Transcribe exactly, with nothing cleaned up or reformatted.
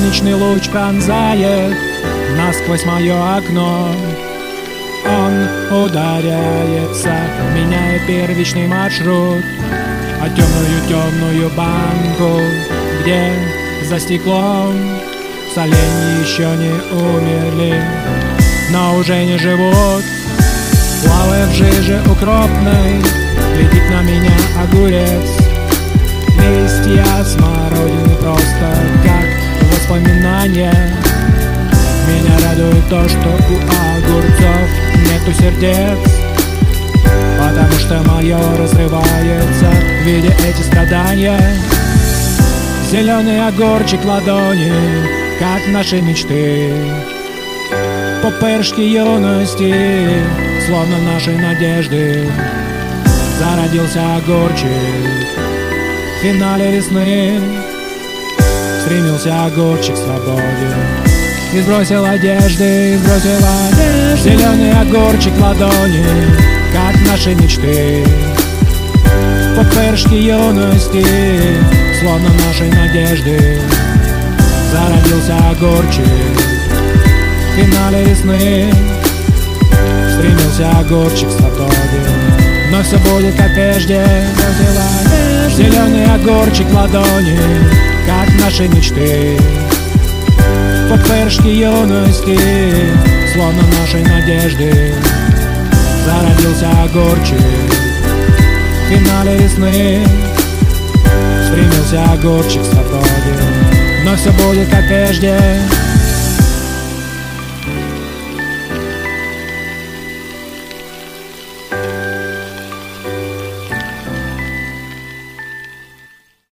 Солнечный луч пронзает насквозь мое окно. Он ударяется, меняя первичный маршрут, а темную-темную банку, где за стеклом соленья еще не умерли, но уже не живут. Плавая в жиже укропной, глядит на меня огурец. Листья смородины просто как воспоминания. Меня радует то, что у огурцов нету сердец, потому что мое разрывается, видя эти страдания. Зеленый огурчик ладони, как наши мечты, пупырышки юности, словно наши надежды. Зародился огурчик в финале весны, стремился огурчик к свободе. И сбросил одежды, и сбросил одежды. Зеленый огурчик ладони, как наши мечты, пупырышки юности, словно наши надежды. Зародился огурчик в финале весны, стремился огурчик к свободе. Но все будет как прежде. Зеленый огурчик ладони, как наши мечты, пупырышки юности, словно наши надежды. Зародился огурчик в финале весны, стремился огурчик к свободе. Но все будет как прежде.